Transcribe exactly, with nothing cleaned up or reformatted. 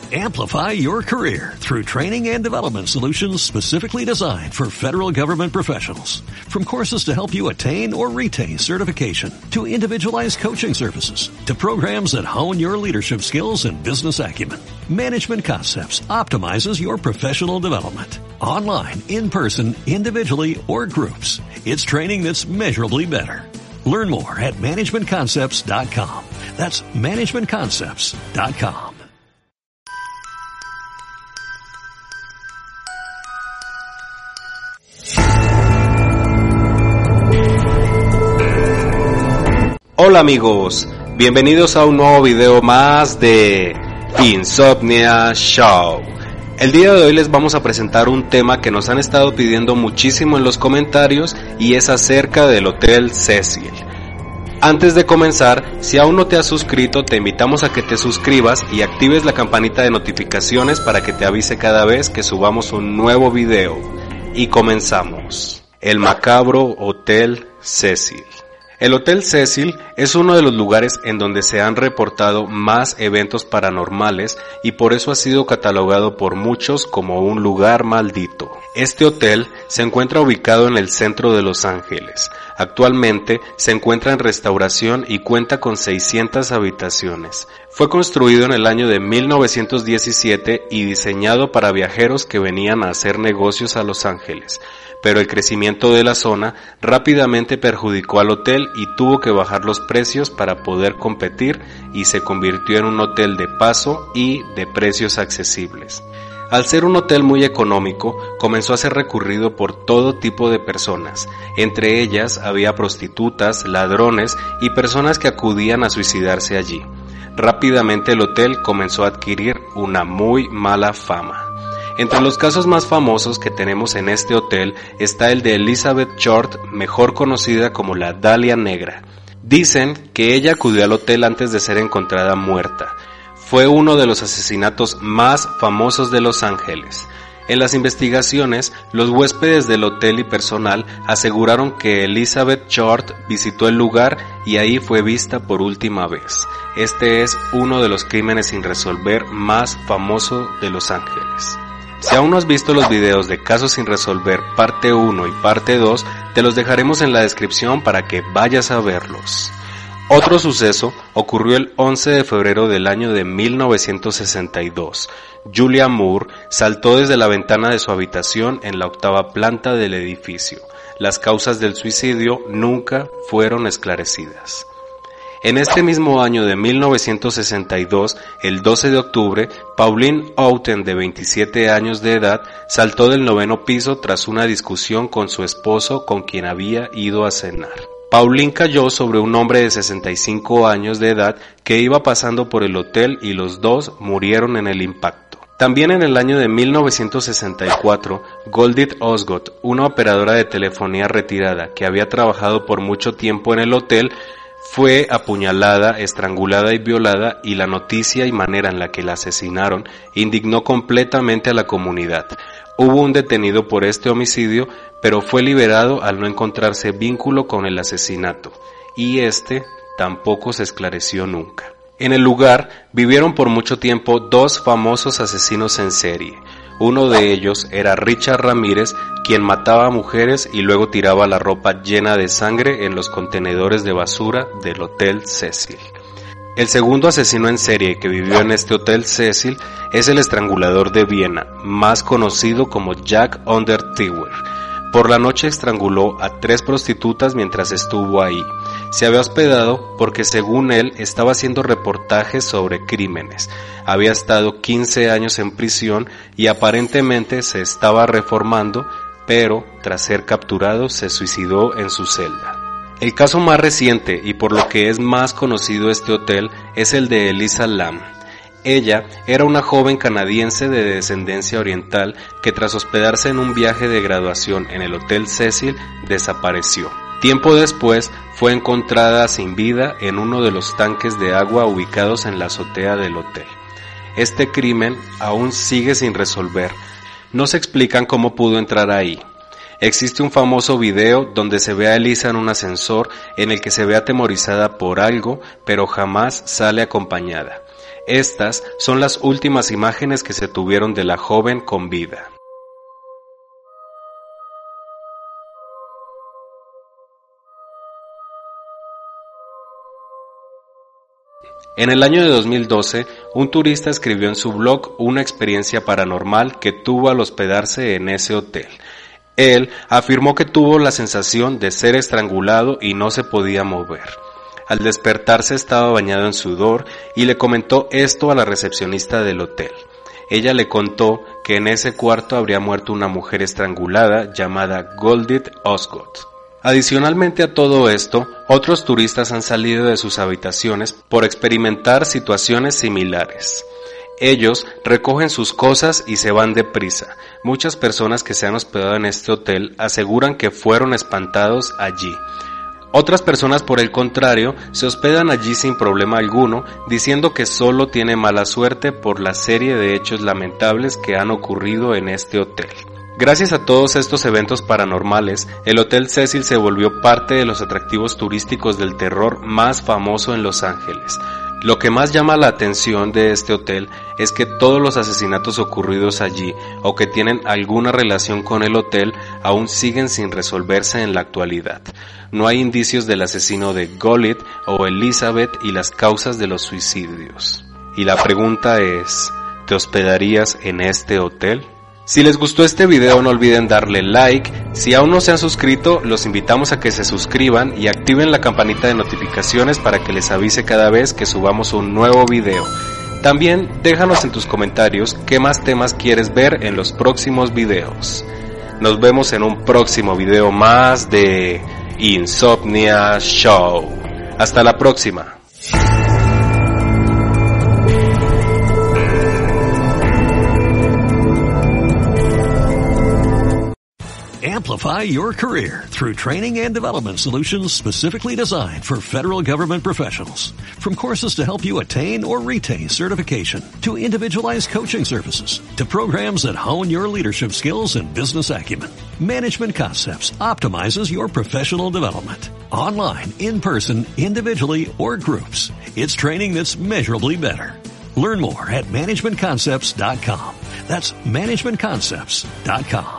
Amplify your career through training and development solutions specifically designed for federal government professionals. From courses to help you attain or retain certification, to individualized coaching services, to programs that hone your leadership skills and business acumen, Management Concepts optimizes your professional development. Online, in person, individually, or groups, it's training that's measurably better. Learn more at management concepts dot com. That's management concepts dot com. Hola amigos, bienvenidos a un nuevo video más de Insomnia Show. El día de hoy les vamos a presentar un tema que nos han estado pidiendo muchísimo en los comentarios y es acerca del Hotel Cecil. Antes de comenzar, si aún no te has suscrito, te invitamos a que te suscribas y actives la campanita de notificaciones para que te avise cada vez que subamos un nuevo video. Y comenzamos. El macabro Hotel Cecil. El Hotel Cecil es uno de los lugares en donde se han reportado más eventos paranormales y por eso ha sido catalogado por muchos como un lugar maldito. Este hotel se encuentra ubicado en el centro de Los Ángeles. Actualmente se encuentra en restauración y cuenta con seiscientas habitaciones. Fue construido en el año de mil novecientos diecisiete y diseñado para viajeros que venían a hacer negocios a Los Ángeles. Pero el crecimiento de la zona rápidamente perjudicó al hotel y tuvo que bajar los precios para poder competir y se convirtió en un hotel de paso y de precios accesibles. Al ser un hotel muy económico, comenzó a ser recurrido por todo tipo de personas. Entre ellas había prostitutas, ladrones y personas que acudían a suicidarse allí. Rápidamente el hotel comenzó a adquirir una muy mala fama. Entre los casos más famosos que tenemos en este hotel está el de Elizabeth Short, mejor conocida como la Dalia Negra. Dicen que ella acudió al hotel antes de ser encontrada muerta. Fue uno de los asesinatos más famosos de Los Ángeles. En las investigaciones, los huéspedes del hotel y personal aseguraron que Elizabeth Short visitó el lugar y ahí fue vista por última vez. Este es uno de los crímenes sin resolver más famoso de Los Ángeles. Si aún no has visto los videos de Casos sin resolver parte uno y parte dos, te los dejaremos en la descripción para que vayas a verlos. Otro suceso ocurrió el once de febrero del año de mil novecientos sesenta y dos. Julia Moore saltó desde la ventana de su habitación en la octava planta del edificio. Las causas del suicidio nunca fueron esclarecidas. En este mismo año de mil novecientos sesenta y dos, el doce de octubre, Pauline Outen, de veintisiete años de edad, saltó del noveno piso tras una discusión con su esposo con quien había ido a cenar. Pauline cayó sobre un hombre de sesenta y cinco años de edad que iba pasando por el hotel y los dos murieron en el impacto. También en el año de mil novecientos sesenta y cuatro, Goldie Osgood, una operadora de telefonía retirada que había trabajado por mucho tiempo en el hotel, fue apuñalada, estrangulada y violada, y la noticia y manera en la que la asesinaron indignó completamente a la comunidad. Hubo un detenido por este homicidio, pero fue liberado al no encontrarse vínculo con el asesinato, y este tampoco se esclareció nunca. En el lugar vivieron por mucho tiempo dos famosos asesinos en serie. Uno de ellos era Richard Ramírez, quien mataba a mujeres y luego tiraba la ropa llena de sangre en los contenedores de basura del Hotel Cecil. El segundo asesino en serie que vivió en este Hotel Cecil es el estrangulador de Viena, más conocido como Jack Unterweger. Por la noche estranguló a tres prostitutas mientras estuvo ahí. Se había hospedado porque, según él, estaba haciendo reportajes sobre crímenes. Había estado quince años en prisión y aparentemente se estaba reformando, pero tras ser capturado se suicidó en su celda. El caso más reciente y por lo que es más conocido este hotel es el de Elisa Lam. Ella era una joven canadiense de descendencia oriental que tras hospedarse en un viaje de graduación en el Hotel Cecil desapareció. Tiempo después fue encontrada sin vida en uno de los tanques de agua ubicados en la azotea del hotel. Este crimen aún sigue sin resolver. No se explican cómo pudo entrar ahí. Existe un famoso video donde se ve a Elisa en un ascensor en el que se ve atemorizada por algo, pero jamás sale acompañada. Estas son las últimas imágenes que se tuvieron de la joven con vida. En el año de dos mil doce, un turista escribió en su blog una experiencia paranormal que tuvo al hospedarse en ese hotel. Él afirmó que tuvo la sensación de ser estrangulado y no se podía mover. Al despertarse estaba bañado en sudor y le comentó esto a la recepcionista del hotel. Ella le contó que en ese cuarto habría muerto una mujer estrangulada llamada Goldie Osgood. Adicionalmente a todo esto, otros turistas han salido de sus habitaciones por experimentar situaciones similares. Ellos recogen sus cosas y se van deprisa. Muchas personas que se han hospedado en este hotel aseguran que fueron espantados allí. Otras personas, por el contrario, se hospedan allí sin problema alguno, diciendo que solo tiene mala suerte por la serie de hechos lamentables que han ocurrido en este hotel. Gracias a todos estos eventos paranormales, el Hotel Cecil se volvió parte de los atractivos turísticos del terror más famoso en Los Ángeles. Lo que más llama la atención de este hotel es que todos los asesinatos ocurridos allí o que tienen alguna relación con el hotel aún siguen sin resolverse en la actualidad. No hay indicios del asesino de Goldie o Elizabeth y las causas de los suicidios. Y la pregunta es, ¿te hospedarías en este hotel? Si les gustó este video no olviden darle like, si aún no se han suscrito los invitamos a que se suscriban y activen la campanita de notificaciones para que les avise cada vez que subamos un nuevo video. También déjanos en tus comentarios qué más temas quieres ver en los próximos videos. Nos vemos en un próximo video más de Insomnia Show. Hasta la próxima. Amplify your career through training and development solutions specifically designed for federal government professionals. From courses to help you attain or retain certification, to individualized coaching services, to programs that hone your leadership skills and business acumen, Management Concepts optimizes your professional development. Online, in person, individually, or groups, it's training that's measurably better. Learn more at management concepts dot com. That's management concepts dot com.